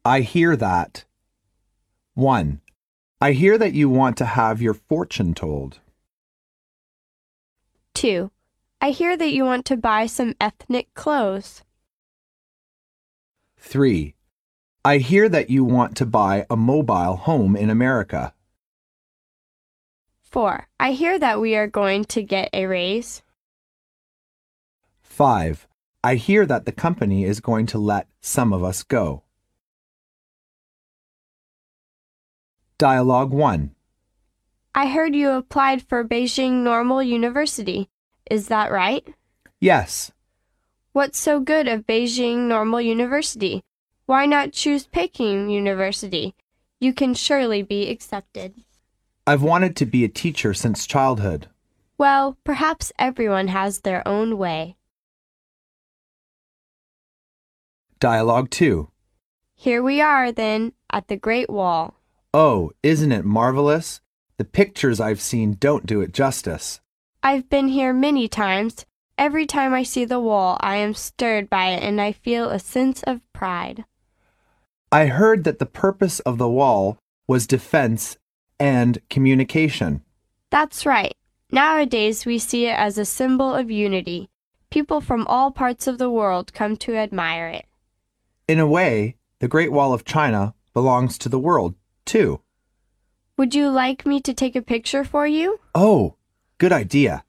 I hear that. 1. I hear that you want to have your fortune told. 2. I hear that you want to buy some ethnic clothes. 3. I hear that you want to buy a mobile home in America. 4. I hear that we are going to get a raise. 5. I hear that the company is going to let some of us go. Dialogue 1. I heard you applied for Beijing Normal University. Is that right? Yes. What's so good of Beijing Normal University? Why not choose Peking University? You can surely be accepted. I've wanted to be a teacher since childhood. Well, perhaps everyone has their own way. Dialogue 2. Here we are, then, at the Great Wall. Oh, isn't it marvelous? The pictures I've seen don't do it justice. I've been here many times. Every time I see the wall, I am stirred by it and I feel a sense of pride. I heard that the purpose of the wall was defense and communication. That's right. Nowadays we see it as a symbol of unity. People from all parts of the world come to admire it. In a way, the Great Wall of China belongs to the world, too. Would you like me to take a picture for you? Oh, good idea.